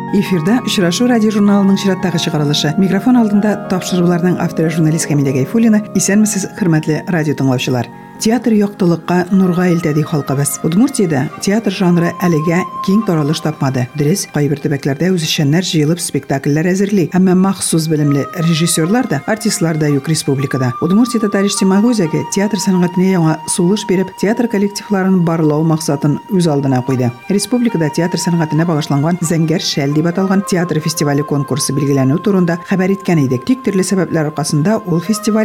Эфирда Очрашу радио журналының чираттагы чыгарылышы. Микрофон алдында тапшыруларның авторы журналист Хамида Гайфуллина. Исәнмесез, хөрмәтле радио тыңлаучылар. Театр яктылыкка, нурга илтәди халкыбыз. Удмуртиядә театр жанры әлегә киң таралыш тапмады. Дөрес, кайбер төбәкләрдә үзешчәннәр җыелып спектакльләр әзерли. Әмма махсус белемле режиссерлар да, артистлар да юк республикада. Удмуртия татар-иҗтимагый үзәге театр сәнгатенә яңа сулыш биреп, театр коллективларын барлау максатын үз алдына куйды. Республикада театр сәнгатенә багышланган Зәңгәр шәл дип аталган театр фестивале конкурсы билгеләнү турында хәбәр иткән идек. Тик төрле сәбәпләр аркасында ул фестиваль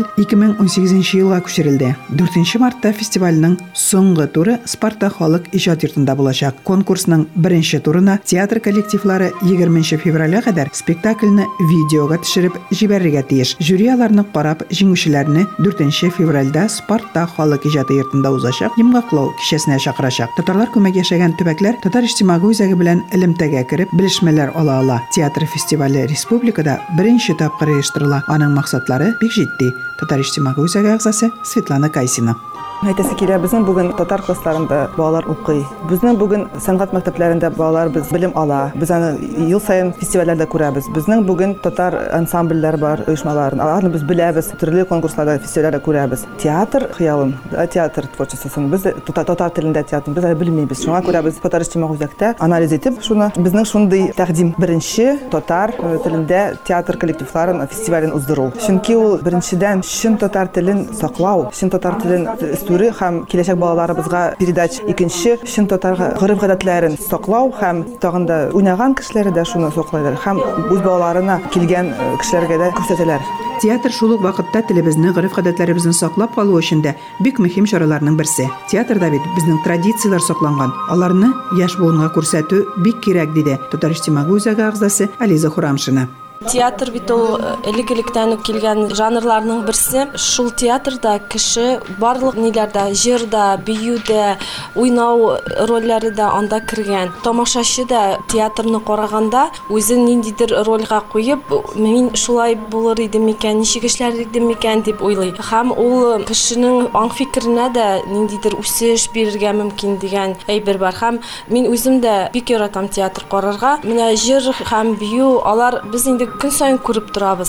2018 елга күчерелде. 4 мартта фестивальнең соңгы туры Спарта халык иҗат йортында булачак. Конкурсның беренче турына театр коллективлары 20 февраля кадәр спектакльне видеога төшереп җибәрергә тиеш. Жюри аларны карап, җиңүчеләрне 4 февральдә Спарта халык иҗат йортында узачак йомгаклау кичәсенә чакырачак. Татарлар күмәк яшәгән төбәкләр татар-иҗтимагый үзәге белән элемтәгә кереп белешмәләр ала. Театр фестивале республикада беренче тапкыр оештырыла. Аның максатлары бик җитди. Татар-иҗтимагый үзәге әгъзасы Светлана Кайсина. Әйтәсе килә, безнең бүген татар классларында балалар укый. Безнең бүген сәнгать мәктәпләрендә балалар без белем ала. Без аны ел сайын фестивальләрдә күрәбез. Безнең бүген татар ансамбльләр бар, оешмалар. Аларны без беләбез, төрле конкурсларда, фестивальләрдә күрәбез. Театр хыялым, театр творчествосын без татар телендә театрны без белмибез. Шуңа күрә без татар-иҗтимагый үзәктә анализ итеп, шуны безнең шундый тәкъдим беренче татар телендә театр коллективларын фестивален уздыру. Чөнки ул беренчедән чын татар телен саклау, чын татар телен һәм киләчәк балаларыбызга передач. Икенче, чын татар гореф-гадәтләрен саклау һәм тагын да уйнаган кешеләре дә шуны саклайлар һәм үз балаларына килгән кешеләргә дә күрсәтәләр. Театр шул ук вакытта телебезне, гореф-гадәтләребезне саклап калу өчен дә бик мөһим чараларның берсе. Театрда бит безнең традицияләр сакланган. Аларны яшь буынга күрсәтү бик кирәк диде Татар-иҗтимагый үзәге әгъзасы Ализа Хурамшина. Театр бит ул элек-электән үк килгән жанрларның берсе. Шул театрда кеше барлык ниләрдә, җырда, биюдә, уйнау рольләре дә анда кергән. Тамашачы да театрны караганда үзен ниндидер рольгә куеп, мин шулай булыр идем микән, ничек эшләр идем микән дип уйлый. Һәм ул кешенең аңфикеренә дә ниндидер үсеш бирергә мөмкин дигән әйбер бар. Һәм мин үзем дә бик яратам театр карарга. Менә җыр һәм бию, алар без инде көн сайын күреп торабыз.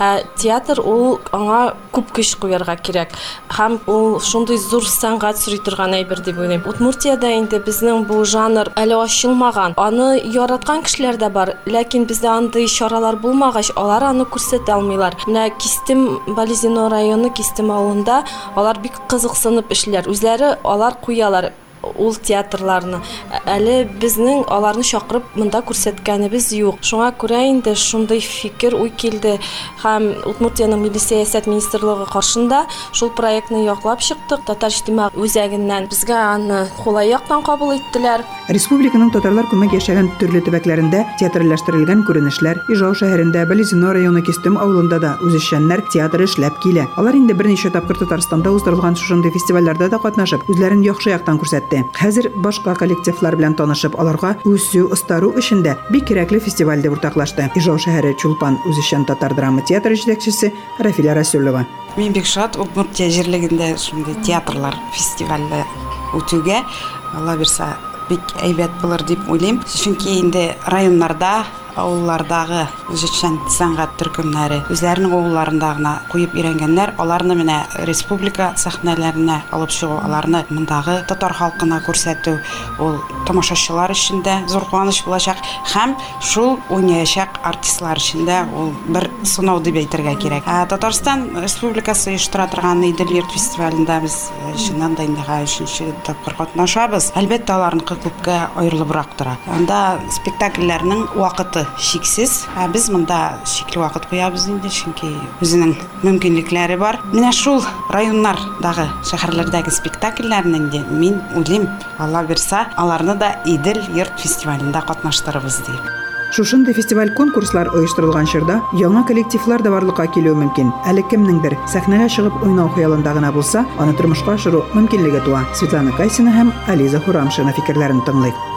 Театр ул аңа күп көч куярга кирәк. Һәм ул шундый зур сәнгать сорый торган әйбер дип уйлыйм. Удмуртиядә инде безнең бу жанр әле ачылмаган. Аны яраткан кешеләр дә бар, ләкин бездә андый чаралар булмагач, алар аны күрсәтә алмыйлар. Менә Кистем Бализино районы Кистем авылында алар бик кызыксынып эшләр. Үзләре алар куялар ул театрларны. Әле безнең аларны чакырып монда күрсәткәнебез юк. Шуңа күрә инде шундый фикер уй килде һәм Удмуртияның Милли сәясәт министрлыгы каршында шул проектны яклап чыктык. Татар-иҗтимагый үзәгеннән безгә аны кулай яктан кабул иттеләр. Республиканың татарлар күмәк яшәгән төрле төбәкләрендә театрлаштерылган күренешләр, Ижау шәһәрендә, Бализино районы Кистем авылында да үзешчәннәр театры эшләп килә. Алар инде берничә тапкыр Татарстанда уздырылган шундый фестивальләрдә дә катнашып, үзләрен яхшы яктан күрсәтте. Хәзер башка коллективлар белән танышып, аларга үсү, ыстару өчен дә бик кирәкле фестивальдә уртаклашты. Ижау шәһәре Чулпан үзешчән татар драма театры җитәкчесе Рафиля Расулова. Мин бик шат Удмуртия җирлегендә шундый театрлар фестивале үтүгә. Алла бирсә, бик әйбәт булыр дип уйлыйм. Чөнки инде районнарда, авыллардагы үзешчән сәнгать төркемнәре үзләренең авылларында гына куеп өйрәнгәннәр, аларны менә республика сәхнәләренә алып чыгу, аларны мондагы татар халкына күрсәтү, ул тамашачылар өчен дә зур куаныч булачак һәм шул уйнаячак артистлар өчен дә ул бер сынау дип әйтергә кирәк. Татарстан Республикасы оештыра торган Идел йорт фестивалендә без чыннан да инде 3нче тапкыр катнашабыз. Әлбәттә аларныкы күпкә аерылыбрак тора. Анда спектакльләрнең вакыты шиксез. Без монда шикле вакыт куябыз инде, чөнки үзенең мөмкинлекләре бар. Менә шул районнардагы, шәһәрләрдәге спектакльләрнең дә мин уйлыйм, Алла бирсә, аларны да Идел йорт фестивалендә катнаштырырбыз дип. Шушындый фестиваль-конкурслар оештырылган чорда яңа коллективлар да барлыкка килү мөмкин. Әле кемнеңдер сәхнәгә чыгып уйнау хыялында гына булса, аны тормышка ашыру мөмкинлеге туа. Светлана Кайсина һәм Ализа Хурамшина фикерләрен тыңлыйк.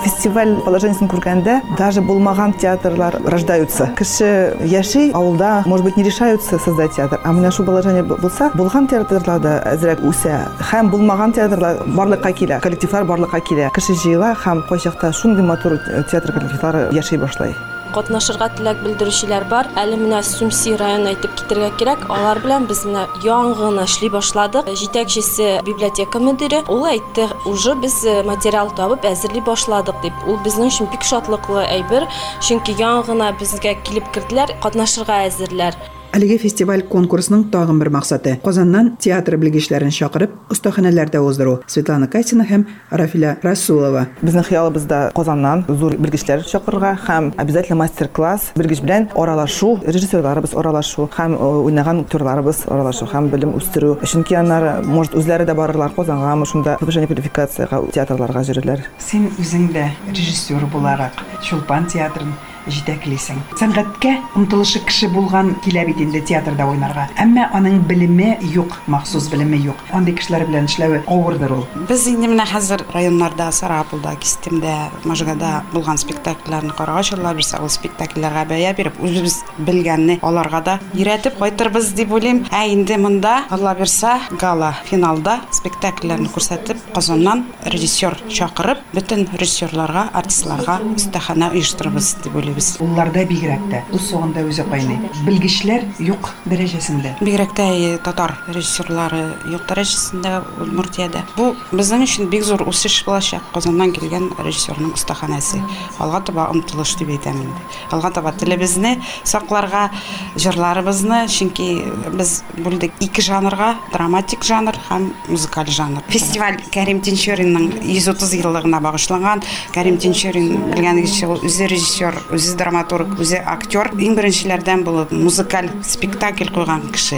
фестиваль положениесен күргәндә, даже булмаган театрлар рождаются. Кеше яши авылда, может быть, не решаются создать театр, а менә шу положение булса, булган театрларда әзрәк үсә. Һәм булмаган театрлар барлыкка килә, коллективлар барлыкка килә. Кеше җыела һәм кайчакта шундый матур театр коллективлары яши башлый. Катнашырга теләк белдерүчеләр бар. Әле менә Сумси районына әйтеп китәргә кирәк. Алар белән без менә яңгына эшли башладык. Җитәкчесе библиотека мөдире, ул әйтте, уже без материал табып әзерли башладык дип. Ул безнең өчен бик шатлыклы әйбер, чөнки яңгына безгә килеп керделәр, катнашырга әзерләр. Әлеге фестиваль конкурсының тагын бер максаты – Казаннан театр белгечләрен чакырып, остаханәләрдә уздыру. Светлана Катина һәм Рафиля Расулова. Безнең хыялыбызда Казаннан зур белгечләр чакырырга һәм обязательно мастер-класс, белгеч белән аралашу, режиссерларыбыз аралашу һәм уйнаган актерларыбыз аралашу һәм белем үстерү. Чөнки аннары, может, үзләре дә барырлар Казанга, шунда повышение квалификацияга театрларга йөрерләр. Син үзең дә режиссер буларак Чулпан театрын җитәклисең. Сәнгатькә омтылышы кеше булган килә бит инде театрда уйнарга. Әмма аның белеме юк, махсус белеме юк. Андый кешеләр белән эшләү авырдыр ул. Без инде менә хәзер районнарда, Сарапулда, Кистемдә, Можгада булган спектакльләрне карагачлар, бирсә ул спектакльләргә бәя биреп, үзебез белгәнне аларга да өйрәтеп кайтырбыз дип уйлыйм. Ә инде монда, Алла бирсә, гала финалда спектакльләрне күрсәтеп, Казаннан режиссер чакырып, бөтен режиссерларга, артистларга остахана оештырабыз дип уйлыйм. Улларда бигрәк тә үз сугында үзе кайный. Белгечләр юк дәрәҗәсендә. Бигрәк тә татар режиссерлары юк дәрәҗәсендә Удмуртиядә. Бу безнең өчен бик зур үсеш булачак. Казаннан килгән режиссерның остаханәсе. Алга таба омтылыш дип әйтәм инде. Алга таба телебезне сакларга, җырларыбызны, чөнки без бүлдек ике жанрга, драматик жанр һәм музыкаль жанр. Фестиваль Кәрим Тинчуринның 130 еллыгына багышланган. Кәрим Тинчурин белгәнегезчә ул үзе режиссер, үзе драматург, үзе актер. Иң беренчеләрдән булып музыкаль спектакль куйган кеше.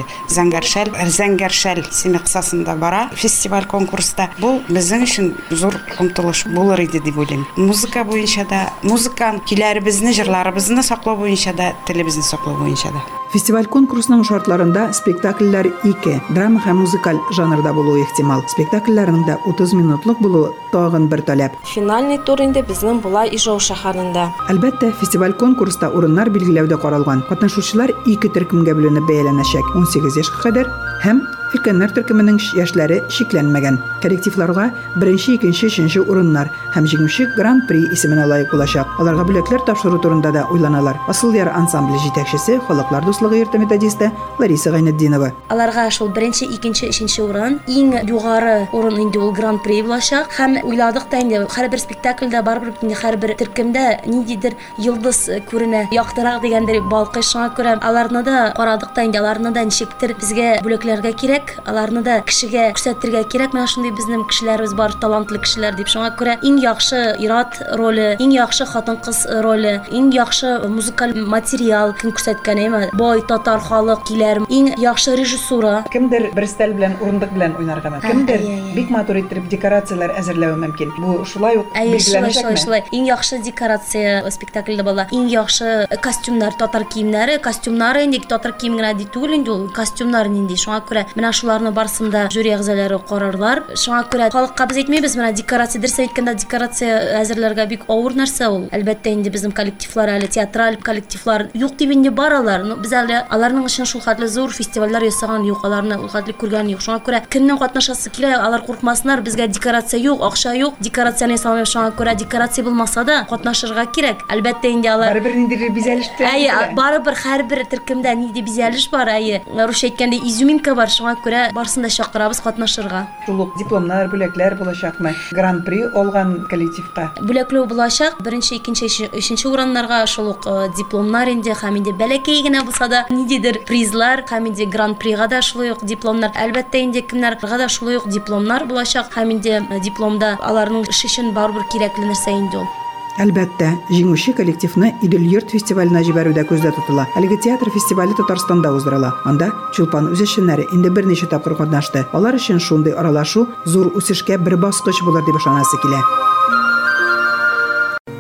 Зәңгәршәл сине кысасында бара фестиваль конкурста. Бу безнең өчен зур омтылыш булыр иде дип уйлыйм. Музыка буенча да, музыканы, киләребезне, җырларыбызны саклау буенча да, телебезне саклау буенча да. Фестиваль конкурсының шартларында спектакльләр 2, драма һәм музыкаль жанрда булуы ихтимал. Спектакльләрнең дә 30 минутлык булуы тагын бер таләп. Финальный тур инде безнең була Ижау шәһәрендә. Әлбәттә, фестиваль конкурста урыннар билгеләүдә каралган. Катнашучылар 2 төркемгә бүленеп бәяләнәчәк. 18 яшькә кадәр һәм өлкәннәр төркеменең яшьләре шикләнмәгән. Коллективларга 1-нче, 2-нче, 3-нче урыннар һәм җиңүче Гран-при исеменә лаек булачак. Аларга бүләкләр тапшыру турында да уйланалар. Асыл яр ансамбле җитәкчесе, халыклар дуслыгы йорты методисты Лариса Гайнетдинова. Аларга шул 1-нче, 2-нче, 3-нче урын, иң югары урын инде ул Гран-при булачак. Һәм уйладык та инде һәрбер спектакльдә барбыр инде һәрбер төркемдә ниндидер йолдыз күренә, яктырак дигәндер балкый. Шуңа күрә аларны да карадык та инде, аларны да ничектер безгә бүләкләргә кирәк. Аларны да кешегә күрсәтергә кирәк. Менә шундый безнең кешеләребез бар, талантлы кешеләр дип. Шуңа күрә иң яхшы ир-ат роле, иң яхшы хатын-кыз роле, иң яхшы музыкаль материал кем күрсәткән әйме? Бай татар халык килер, иң яхшы режиссура. Кемдер бер стиль белән, урындык белән уйнарга мөмкин. Кемдер бик матур итеп декорациялар әзерләү мөмкин. Бу шулай ук билгеләнәчәкме? Иң яхшы декорация спектакльдә була. Иң яхшы костюмнар, татар киемнәре, костюмнары инде татар кием генә ди түгел инде ул. Костюмнар нинди. Шуңа күрә менә шуларны барсында жюри әгъзалары карарлар. Шуңа күрә халыкка без әйтмәйбез, менә декорация дөрес әйткәндә декорация әзерләргә бик авыр нәрсә ул. Әлбәттә инде безнең коллективлар, әле театраль коллективлар юк дип инде баралар. Без әле аларның өчен шул хәтле зур фестивальләр ясаган юк, аларны ул хәтле күргән юк. Шуңа күрә кемнең катнашасы килә, алар куркмасыннар, безгә декорация юк, акча юк, декорацияны ясамый. Шуңа күрә декорация булмаса да катнашырга кирәк. Әлбәттә инде алар барыбер ниндидер бизәлештә. Барыбер һәрбер төркемдә нинди бизәлеш бар, русча әйткәндә изюминка бар. Шуңа күрә барсын да чакырабыз катнашырга. Шул ук дипломнар, бүләкләр булачакмы? Гран-при алган коллективка бүләкләү булачак. 1-нче, 2-нче, 3-нче урыннарга шул ук дипломнар инде һәм инде бәләкәй генә булса да ниндидер призлар һәм инде гран-прига да шулай ук дипломнар. Әлбәттә инде кемнәргә да шулай ук дипломнар булачак һәм инде дипломда аларның эш өчен барыбер кирәкле нәрсә инде ул. Әлбәттә, җиңүче коллективны Идел-Йорт фестиваленә җибәрүдә күздә тотыла. Әлеге театр фестивале Татарстанда уздырыла. Анда Чулпан үз эшчәннәре инде берничә тапкыр катнашты. Алар өчен шундый аралашу зур үсешкә бер баскыч булыр дип ышанасы килә.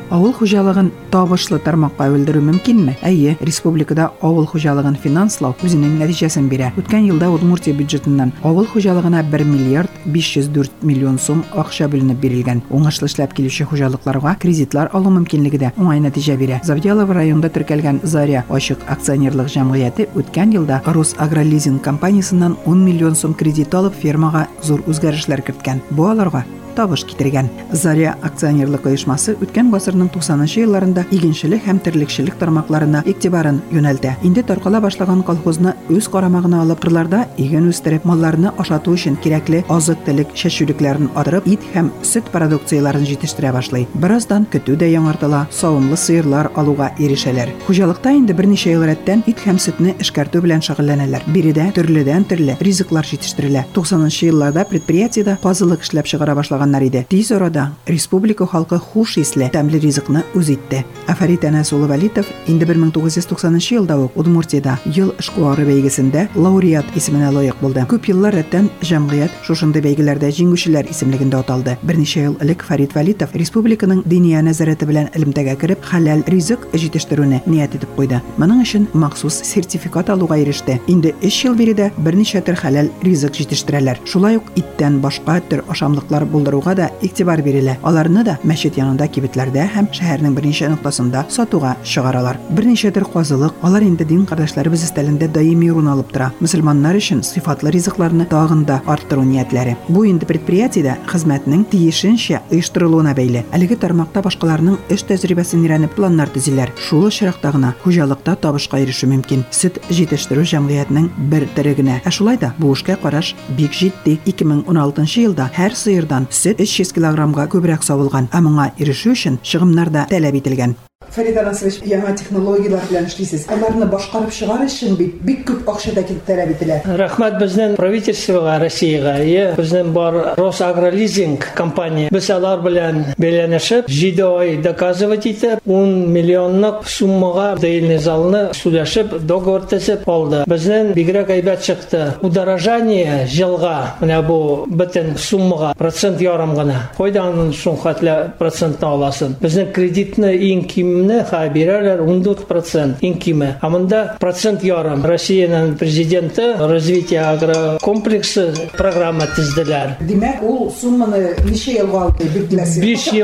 Авыл хуҗалыгын табышлы тармакка әверелдерү мөмкинме? Әйе, республикада авыл хуҗалыгын финанслау үзенең нәтиҗәсен бирә. Үткән елда Удмуртия бюджетыннан авыл хуҗалыгына 1 миллиард 504 миллион сум акча бүленеп бирелгән. Уңышлы эшләп килүче хуҗалыкларга кредитлар алу мөмкинлеге дә уңай нәтиҗә бирә. Завьялов районында теркәлгән Заря ачык акционерлык җәмгыяте үткән елда Рус Агролизинг компаниясеннән 10 миллион сум кредит алып фермага зур үзгәрешләр керткән. Бу аларга табыш китергән. Заря акционерлык оешмасы үткән гасырның 90-нчы елларында игенчелек һәм терлекчелек тармакларына игътибарын юнәлтә. Инде таркала башлаган колхозны үз карамагына алып, кырларда иген үстереп, малларны ашату өчен кирәкле азык-төлек шәшүлекләрен арттырып, ит һәм сөт продукцияларын җитештерә башлый. Бераздан көтү дә яңартыла, савымлы сыерлар алуга ирешәләр. Хуҗалыкта инде берничә ел рәттән ит һәм сөтне эшкәртү белән шөгыльләнәләр. Биредә төрле ризыклар җитештерелә. 90-нчы елларда предприятиедә казылык эшләп чыгара башлаган иде. Тиз арада республика халкы хуш исле, тәмле ризыкны үз итте. Афарит Әнәсулы Валитов инде 1990 елда ук Удмуртиядә ел эшкуары бәйгесендә лауреат исеменә лаек булды. Күп еллар рәттән җәмгыять шушындый бәйгеләрдә җиңүчеләр исемлегендә аталды. Берничә ел элек Фарит Валитов республиканың диния нәзарәте белән элемтәгә кереп, хәләл ризык җитештерүне ният итеп куйды. Моның өчен махсус сертификат алуга иреште. Инде 3 ел биредә берничә төр хәләл ризык җитештерәләр. Шулай ук иттән башка төр ашамлыклар булдыруга да игътибар бирелә. Аларны да мәчет янында, кибетләрдә һәм шәһәрнең берничә ноктасында сатуга чыгаралар. Берничә төр казылык, алар инде дин кардәшләребез өстәлендә даими урын алып тора. Мөселманнар өчен сыйфатлы ризыкларны тагын да арттыру ниятләре. Бу инде предприятиедә хезмәтнең тиешенчә оештырылуына бәйле. Әлеге тармакта башкаларның эш тәҗрибәсен өйрәнеп планнар төзиләр. Шул очракта гына хуҗалыкта табышка ирешү мөмкин. Сөт җитештерү җәмгыятьнең бер төре генә. Шулай да бу эшкә караш бик җитди. 2016 елда һәр сыердан сөт 300 килограммга күбрәк савылган, ә моңа ирешү өчен чыгымнар да таләп ителгән. Фарид Анасович, яңа технологиялар белән эшлисез. Аларны башкарып чыгар өчен бик күп акча да таләп ителә. Рәхмәт безнең правительствога, Россиягә, безнең бар Росагролизинг компания. Без алар белән бәйләнешеп, 7 ай доказывать итеп, 10 миллионлык суммага дөйелне залны сөйләшеп, договор төзеп алды. Безнең бигрәк әйбәт чыкты. Удорожание җылга, менә бу бөтен суммага процент ярым гына. Кайдан шул хәтле процентны аласың? Безнең кредитны иң ким бирәләр 14% инкиме. Амында процент ярым. Россиянең президенты развитие агрокомплексы программа төзделәр. Димәк, ул сумманы ничә елга алды билгеләсе?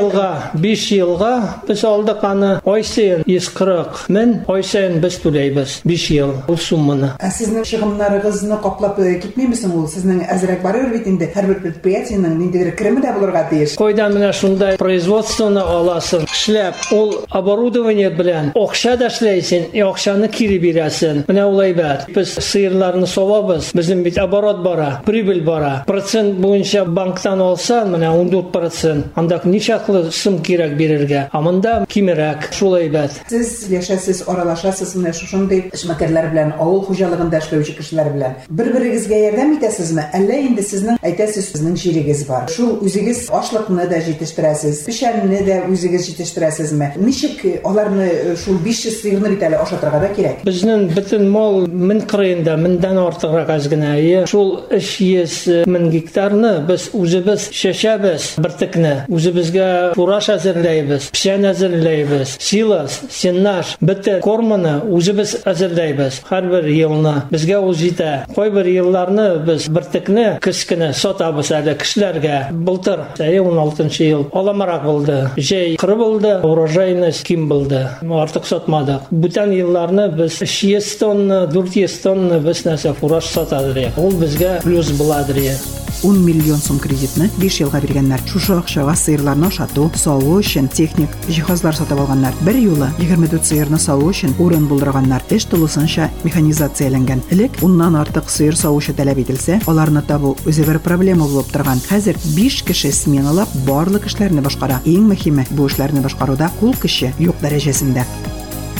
5 елга без алдык аны ай сайын 140 мең, ай сайын без түләйбез. 5 ел ул сумманы. Сезнең чыгымнарыгызны каплап китмиме соң ул? Сезнең әзрәк барыр бит инде. Һәрбер предприятиенең ниндидер креме дә булырга тиеш. Кайда менә шундай производствоны аласың. Эшләп ул оборудование белән акча да эшләйсең, акчаны кире бирәсең. Менә ул әйбәт. Без сыерларны савабыз. Безнең бит оборот бара, прибыль бара. Процент буенча банктан алсаң, менә 14%. Анда ничаклы сум кирәк бирергә. Амында кимерәк. Шул әйбәт. Сез яшәсез, аралашасыз менә шушындый эшмәкәрләр белән, авыл хуҗалыгында эшләүче кешеләр белән. Бер-берегезгә ярдәм итәсезме? Әллә инде сезнең әйтәсез, сезнең җирегез бар. Шул үзегез ашлыкны да җитештерәсез, пешәнне дә үзегез җитештерәсезме? Ничек аларны шул 500 сыерны бит әле ашатырга да кирәк? Безнең бөтен мал 1000 кырыенда, 1000дән артыграк аз гына. Шул 300 мең гектарны без үзебез чәчәбез, бертекне. Үзебезгә фураж әзерләйбез, пешән әзерләйбез, силос, сеннаж, бөтен корманы үзебез әзерләйбез. Һәрбер елны безгә ул җитә. Кайбер елларны без бертекне кечкенә сатабыз әле кешеләргә. Былтыр 16 ел аламарак булды. Җәй кыры булды, урожайность ким булды. Артык сатмадык. Бүтән елларны без 300 тонна, 400 тонна без нәрсә фураж сатадык. Ул безгә плюс буладыр. 10 миллион сум кредитны 5 елга биргәннәр. Шушы акчага сыерларны ашату, саву өчен техник җиһазлар сатып алганнар. Бер юлы 24 сыерны саву өчен урын булдырганнар. Эш тулысынча механизацияләнгән. Элек 10ннан артык сыер савучы таләп ителсә, аларны табу үзе бер проблема булып торган. Хәзер 5 кеше сменалап барлык эшләрне башкара. Иң мөһиме бу эшләрне башкаруда кул көче юк дәрәҗәсендә.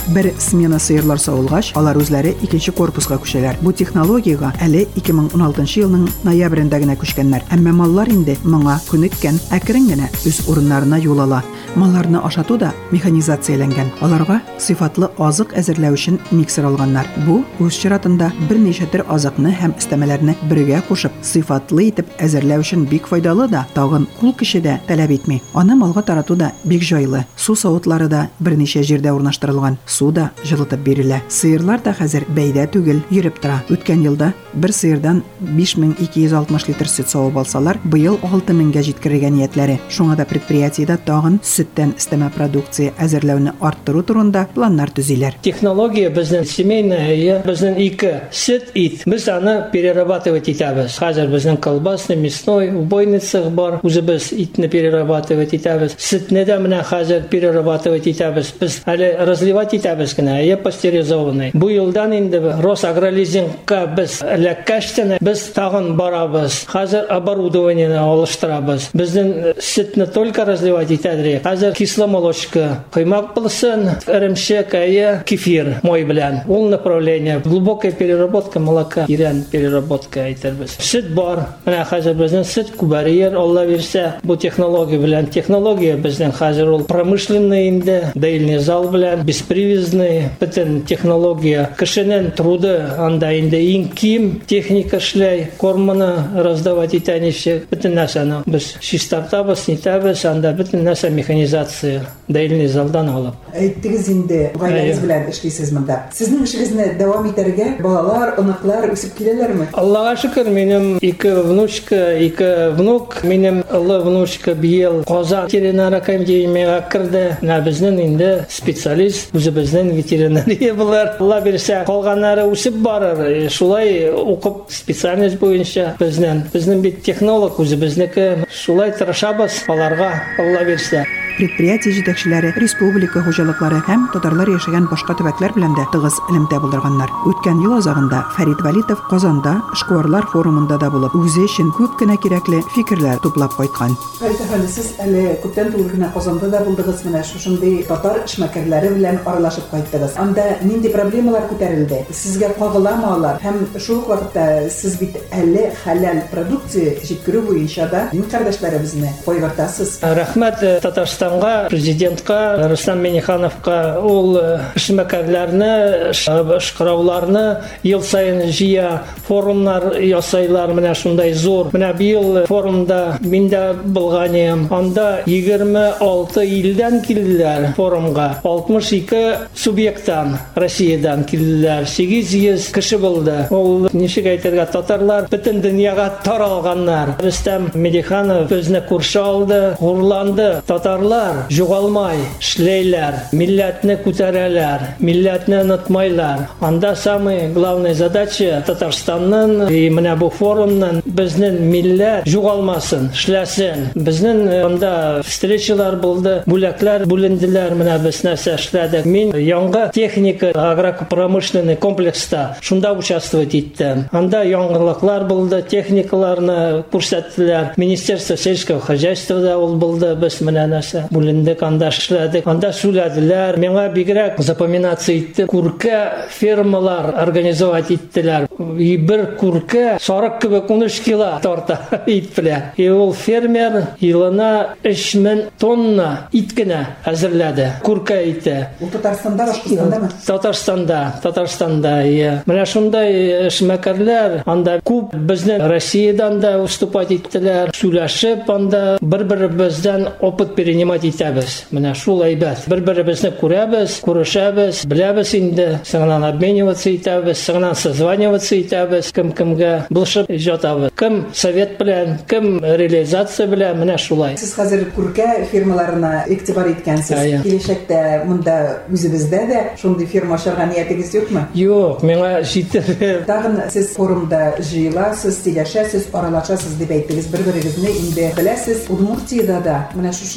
Бер смена сыерлар савылгач, алар үзләре икенче корпуска күчәләр. Бу технологиягә әле 2016 елның ноябрендә генә күчкәннәр. Әмма маллар инде моңа күнеккән, әкрен генә үз урыннарына юл ала. Малларны ашату да механизацияләнгән. Аларга сыйфатлы азык әзерләү өчен миксер алганнар. Бу үз чиратында берничә төр азыкны һәм өстәмәләрне бергә кушып, сыйфатлы итеп әзерләү өчен бик файдалы да, тагын кул кеше дә таләп итми. Аны малга тарату да бик җайлы. Су савытлары да берничә җирдә урнаштырылган. Су да җылытып бирелә. Сыерлар да хәзер бәйдә түгел, йөреп тора. Үткән елда бер сыердан 5260 литр сөт савып алсалар, быел 6000-гә җиткерергә ниятләре. Шуңа да предприятиедә тагын сөттән өстәмә продукция әзерләүне арттыру турында планнар төзиләр. Технология безнең семейная, безнең ике сөт ит. Без аны перерабатывать итәбез. Хәзер безнең колбасный, мясной, убойный цех бар. Үзебез итне перерабатывать итәбез. Сөтне дә менә хәзер перерабатывать итәбез. Без әле разливать итәбез генә, пастеризованный. Бу елдан инде Росагролизингка біз эләккәчтен без тагын барабыз. Хәзер оборудованиене алыштырабыз. Безнең сөтне только разливать итәдер. Хәзер кисломолочка, каймак булсын, эремчек, кефир мой белән. Ул направление глубокая переработка молока, иран переработка әйтербез. Сөт бар. Менә хәзер безнең сөт күбәриер, Алла бирсә, бу технология белән. Технология безнең хәзер ул промышленный инде, доильный зал белән, беспривязный, бөтен технология. Кешенең труды анда инде иң ким техника эшләй, корманы раздавать итә ничек, бөтен нәрсәне без чистартабыз, нитәбез, анда бөтен нәрсә механизация, доильный залдан алып. Әйттегез инде, гаиләгез белән эшлисез монда. Сезнең эшегезне дәвам итәргә балалар, оныклар үсеп киләләрме? Аллага шөкер, минем ике внучка, ике внук, минем улы внучка быел Казан ветеринар академияга кирде. Менә безнең инде специалист, үзебезнең ветеринария булар. Алла бирсә, калганнары үсеп барыр. Шулай укып специальность буенча безнең бит технолог үзебезнеке. Шулай тырышабыз аларга, Алла бирсә. Предприятие җитәкчеләре, республика хуҗалыклары һәм татарлар яшәгән башка төбәкләр белән дә тыгыз элемтә булдырганнар. Үткән ел азагында Фәрит Валитов Казанда эшкуарлар форумында да булып, үзе өчен күп кенә кирәкле фикерләр туплап кайткан. Фәрит әфәнде, сез әле күптән түгел генә Казанда да булдыгыз, менә шушындый татар эшмәкәрләре белән аралашып кайттыгыз. Анда нинди проблемалар күтәрелде? Сезгә кагыламы алар? Һәм шул ук вакытта сез бит әле хәләл продукция җиткерү буенча да дин кардәшләребезне кайгыртасыз. Рәхмәт Татарстан президентка Рустам Миңнехановка, ул эшмәкәрләрне, эшкырауларны ел сайын җыя, форумнар ясайлар, менә шундай зур. Менә быел форумда мин дә булган идем. Анда 26 илдән килделәр форумга. 62 субъекттан Россиядән килделәр. 800 кеше булды. Ул ничек әйтергә, татарлар бөтен дөньяга таралганнар. Рустам Миңнеханов безне күрше алды, хурланды. Татарлар югалмай эшләйләр, милләтне күтәрәләр, милләтне онытмайлар. Анда самая главная задача Татарстанның менә бу форумның безнең милләт югалмасын, эшләсен. Безнең анда встречалар булды, бүләкләр бүленделәр, менә без нәрсә эшләдек. Мин яңа техника агропромышленный комплекста шунда участвовать иттем. Анда яңалыклар булды, техникаларны күрсәттеләр. Министерство сельского хозяйства да ул булды, без менә нәрсә бүлендек, анда эшләдек. Анда сүләделәр. Миңа бигрәк запоминация итте. Күркә фермалар организовать иттеләр. Бер күркә сарык кебек 13 кило тарта ит белән. Ул фермер елына 3000 тонна ит кенә әзерләде. Күркә ите. Ул Татарстанда, Башкортостандамы? Татарстанда. Менә шундай эшмәкәрләр анда күп безнең Россиядан да выступать иттеләр. Сүләшеп анда бер-беребездән опыт перенимать итәбез. Менә шул әйбәт. Бер-беребезне күрәбез, күрешәбез, беләбез инде, соңыннан обмениваться итәбез, соңыннан созваниваться итәбез, кем-кемгә булышып җатабыз. Кем совет белән, кем реализация белән, менә шулай. Сез хәзер күркә фирмаларына игътибар иткәнсез. Киләчәктә монда үзебездә дә шундый фирма ачарга ниятегез юкмы? Юк, миңа җитер. Тагын сез форумда җыеласыз, сөйләшәсез, аралашасыз дип әйттегез. Бер-берегезне инде беләсез. Удмуртиядә да менә шушындый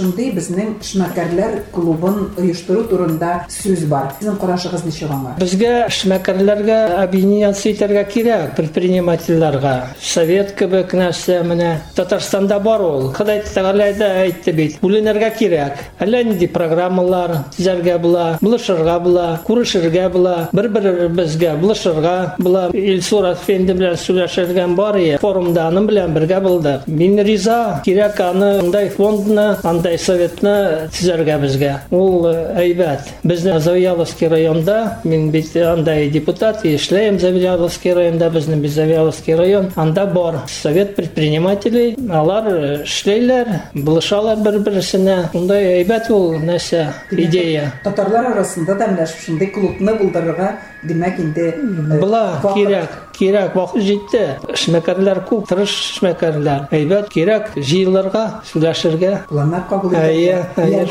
безнең эшмәкәрләр клубын оештыру турында сүз бар. Сезнең карашыгыз ничек аңа? Безгә эшмәкәрләргә объединяция итәргә кирәк, предпринимательләргә. Совет кебек нәрсә менә Татарстанда бар ул. Ходай Тәгалә дә әйтте бит, бүленергә кирәк. Әллә нинди программалар төзәргә була, булышырга була, күрешергә була, бер-беребезгә булышырга була. Илсур әфәнде белән сөйләшергән бар иде. Форумда аның белән бергә булдык. Мин риза, кирәк аны андай фондны, андай советны төзәргә безгә. Ул әйбәт. Безнең Завьяловский районда, мин бит андай депутат, эшләйм Завьяловский районда, безнең Завьяловский район, анда бар совет предпринимателей, алар эшләйләр, булышалар бер-берсенә. Ундай әйбәт ул нәрсә, идея. Татарлар арасында да менә шундый клубны булдырырга, димәк инде була кирәк вакыт җитте. Эшмәкәрләр күп, тырыш эшмәкәрләр. Әйбәт кирәк җыелырга, сөйләшергә. Планнар кабул итәргә,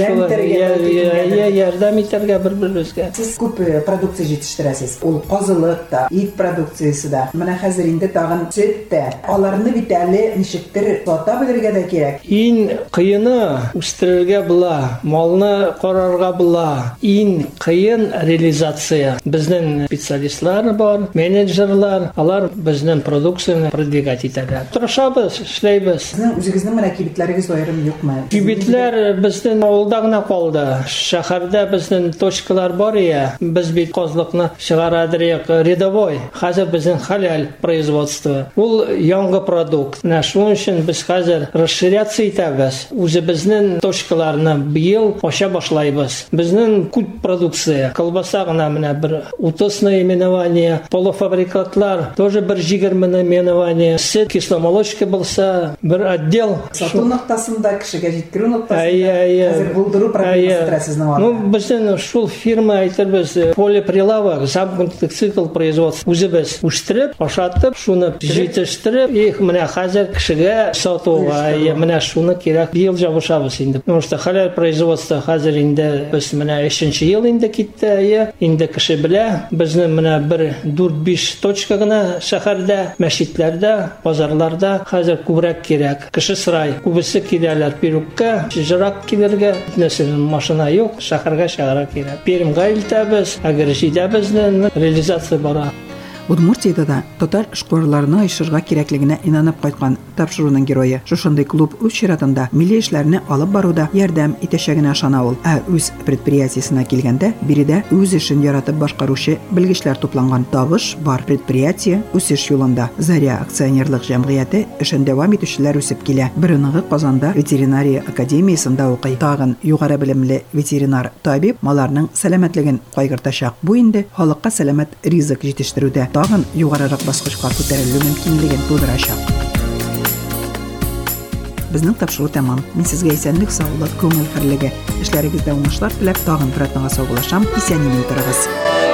ярдәм итәргә бер-беребезгә. Сез күп продукция җитештерәсез. Ул казылык да, ит продукциясе да. Менә хәзер инде тагын сөт тә. Аларны бит әле ничектер сата белергә дә кирәк. Иң кыены үстерергә була, малны карарга була. Иң кыен реализация. Безнең специалистлар бар, менеджерлар, алар безнең продукцияны продвигать итәләр. Тырышабыз, эшләйбез. Сезнең үзегезнең менә кибетләрегез аерым юкмы? Кибетләр безнең авылда гына калды. Шәһәрдә безнең точкалар бар иде. Без бит казлыкны чыгарадырык рядовой. Хәзер безнең халяль производство. Ул яңгы продукт. Менә шуның өчен без хәзер расширяция итәбез. Үзебезнең точкаларны быел ача башлайбыз. Безнең күп продукция. Колбаса гына менә бер 30 наименование, полуфабрикатлар тоже бер 20 наименование. Сөт, кисломолочка булса бер отдел. Сату ноктасында, кешегә җиткерү ноктасында хәзер булдыру проблемасы трәсезне бар. Ну, безнең шул фирма әйтербез, полиприлавок, замкнутый цикл производства. Үзебез үстереп, ашатып, шуны җитештереп, менә хәзер кешегә сатуга, менә шуны кирәк быел җабышабыз инде. Потому что халяль производство хәзер инде без менә 3нче ел инде китте, инде кеше белә, безнең менә бер 4-5 точка гына шәһәрдә, мәчетләрдә, базарларда хәзер күбрәк кирәк. Кеше сырай, күбесе киләләр Перукка, җырак килергә, нәрсәнең машина юк, шәһәргә чыгарга кирәк. Пермгә илтәбез, Агрежидә безнең реализация бара. Удмуртиядә да татар эшкуарларына оешырга кирәклегенә инанып кайткан тапшыруның герое. Шушындый клуб үз чиратында милли эшләрне алып баруда ярдәм итәчәгенә ышана ул. Үз предприятиесенә килгәндә, биредә үз эшен яратып башкаручы белгечләр тупланган. Табыш бар предприятие үсеш юлында. Заря акционерлык җәмгыяте эшен дәвам итүчеләр үсеп килә. Беренеге Казанда ветеринария академиясендә укый. Тагын югары белемле ветеринар табиб маларның сәламәтлеген кайгыртачак. Бу инде халыкка сәламәт ризык җитештерүдә тагын югарырак баскычка күтәрелү мөмкинлеген тудырачак. Безнең тапшыру тәмам. Мин сезгә исәнлек, саулык, күңел хәрлеге, эшләрегездә уңышлар теләп тагын бер атнага саулашам. Исән-имин торыгыз.